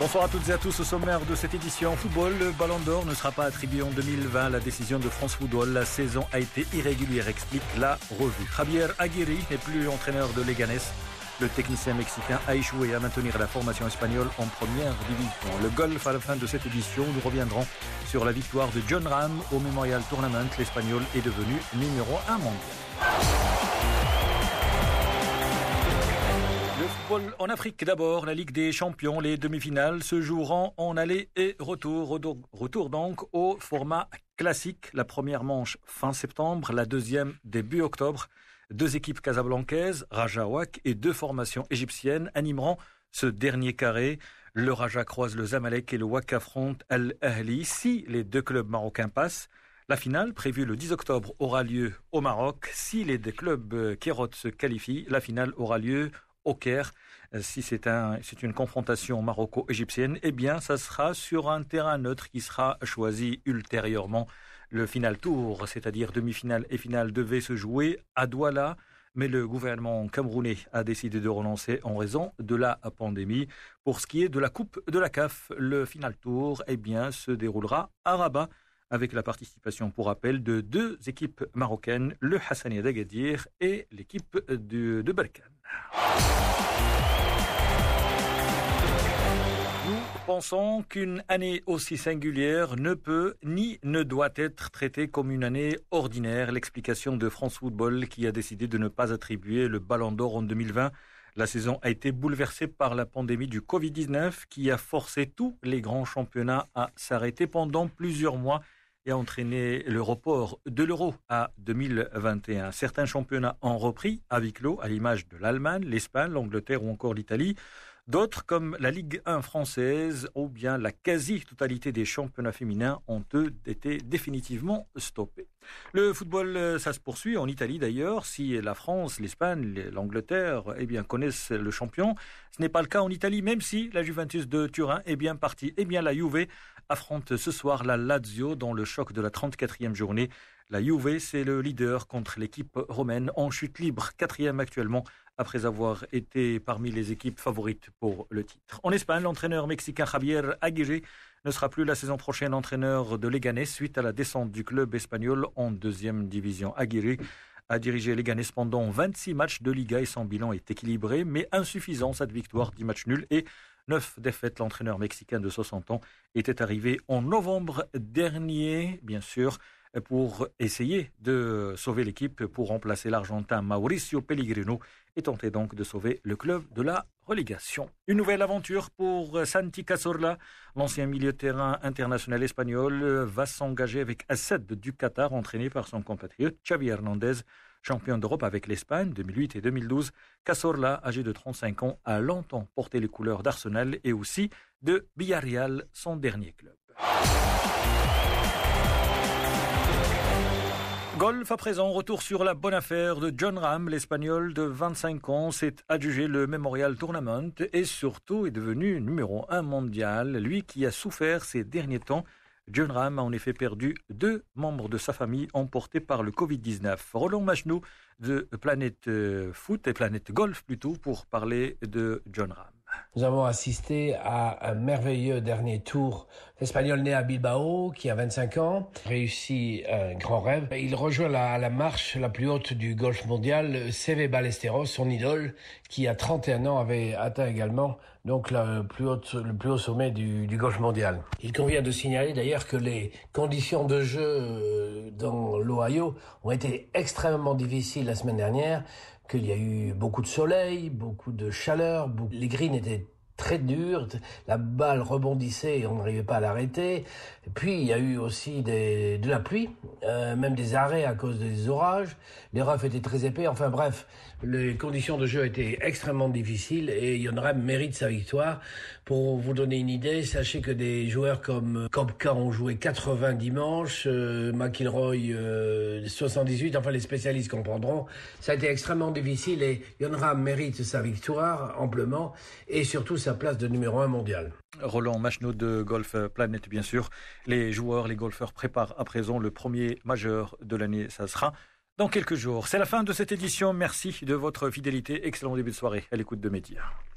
Bonsoir à toutes et à tous. Au sommaire de cette édition football, le Ballon d'Or ne sera pas attribué en 2020. La décision de France Football, la saison a été irrégulière, explique la revue. Javier Aguirre n'est plus entraîneur de Leganés. Le technicien mexicain a échoué à maintenir la formation espagnole en première division. Le golf à la fin de cette édition, nous reviendrons sur la victoire de Jon Rahm au Memorial Tournament. L'Espagnol est devenu numéro 1 mondial. Le football en Afrique d'abord, la Ligue des Champions, les demi-finales se joueront en aller et retour. Retour donc au format classique. La première manche fin septembre, la deuxième début octobre. Deux équipes casablancaises, Raja Wak et deux formations égyptiennes animeront ce dernier carré. Le Raja croise le Zamalek et le Wak affrontent Al-Ahli. Si les deux clubs marocains passent, la finale, prévue le 10 octobre, aura lieu au Maroc. Si les deux clubs Kérote se qualifient, la finale aura lieu au Caire. Si c'est une confrontation maroco-égyptienne, eh bien, ça sera sur un terrain neutre qui sera choisi ultérieurement. Le final tour, c'est-à-dire demi-finale et finale, devait se jouer à Douala, mais le gouvernement camerounais a décidé de renoncer en raison de la pandémie. Pour ce qui est de la Coupe de la CAF, le final tour, eh bien, se déroulera à Rabat, avec la participation, pour rappel, de deux équipes marocaines, le Hassania d'Agadir et l'équipe de Berkane. Nous pensons qu'une année aussi singulière ne peut ni ne doit être traitée comme une année ordinaire. L'explication de France Football qui a décidé de ne pas attribuer le Ballon d'Or en 2020. La saison a été bouleversée par la pandémie du Covid-19 qui a forcé tous les grands championnats à s'arrêter pendant plusieurs mois et a entraîné le report de l'Euro à 2021. Certains championnats ont repris à huis clos, à l'image de l'Allemagne, l'Espagne, l'Angleterre ou encore l'Italie. D'autres, comme la Ligue 1 française ou bien la quasi-totalité des championnats féminins, ont eux été définitivement stoppés. Le football, ça se poursuit en Italie d'ailleurs. Si la France, l'Espagne, l'Angleterre connaissent le champion, ce n'est pas le cas en Italie, même si la Juventus de Turin est bien partie. La Juve affronte ce soir la Lazio dans le choc de la 34e journée. La Juve, c'est le leader contre l'équipe romaine en chute libre, 4e actuellement, après avoir été parmi les équipes favorites pour le titre. En Espagne, l'entraîneur mexicain Javier Aguirre ne sera plus la saison prochaine entraîneur de Leganés suite à la descente du club espagnol en deuxième division. Aguirre a dirigé Leganés pendant 26 matchs de Liga et son bilan est équilibré, mais insuffisant. Cette victoire, 10 matchs nuls et 9 défaites. L'entraîneur mexicain de 60 ans était arrivé en novembre dernier, bien sûr, pour essayer de sauver l'équipe, pour remplacer l'Argentin Mauricio Pellegrino et tenter donc de sauver le club de la relégation. Une nouvelle aventure pour Santi Cazorla. L'ancien milieu de terrain international espagnol va s'engager avec Asad du Qatar, entraîné par son compatriote Xavi Hernandez, champion d'Europe avec l'Espagne 2008 et 2012. Cazorla, âgé de 35 ans, a longtemps porté les couleurs d'Arsenal et aussi de Villarreal, son dernier club. Golf à présent, retour sur la bonne affaire de Jon Rahm. L'Espagnol de 25 ans s'est adjugé le Memorial Tournament et surtout est devenu numéro 1 mondial. Lui qui a souffert ces derniers temps. Jon Rahm a en effet perdu 2 membres de sa famille emportés par le Covid-19. Roland Majnou de Planète Foot et Planète Golf plutôt pour parler de Jon Rahm. Nous avons assisté à un merveilleux dernier tour. L'Espagnol né à Bilbao, qui a 25 ans, réussit un grand rêve. Il rejoint la marche la plus haute du golf mondial, Seve Ballesteros, son idole, qui à 31 ans avait atteint également donc le plus haut sommet du golf mondial. Il convient de signaler d'ailleurs que les conditions de jeu dans l'Ohio ont été extrêmement difficiles la semaine dernière, qu'il y a eu beaucoup de soleil, beaucoup de chaleur, les greens étaient très durs, la balle rebondissait et on n'arrivait pas à l'arrêter. Et puis il y a eu aussi de la pluie, même des arrêts à cause des orages. Les roughs étaient très épais. Enfin bref, les conditions de jeu étaient extrêmement difficiles et Jon Rahm mérite sa victoire. Pour vous donner une idée, sachez que des joueurs comme Koepka ont joué 80 dimanches, McIlroy 78, enfin les spécialistes comprendront. Ça a été extrêmement difficile et Jon Rahm mérite sa victoire amplement et surtout sa place de numéro 1 mondial. Roland Majnou de Golf Planet, bien sûr. Les golfeurs préparent à présent le premier majeur de l'année. Ça sera dans quelques jours. C'est la fin de cette édition. Merci de votre fidélité. Excellent début de soirée à l'écoute de Média.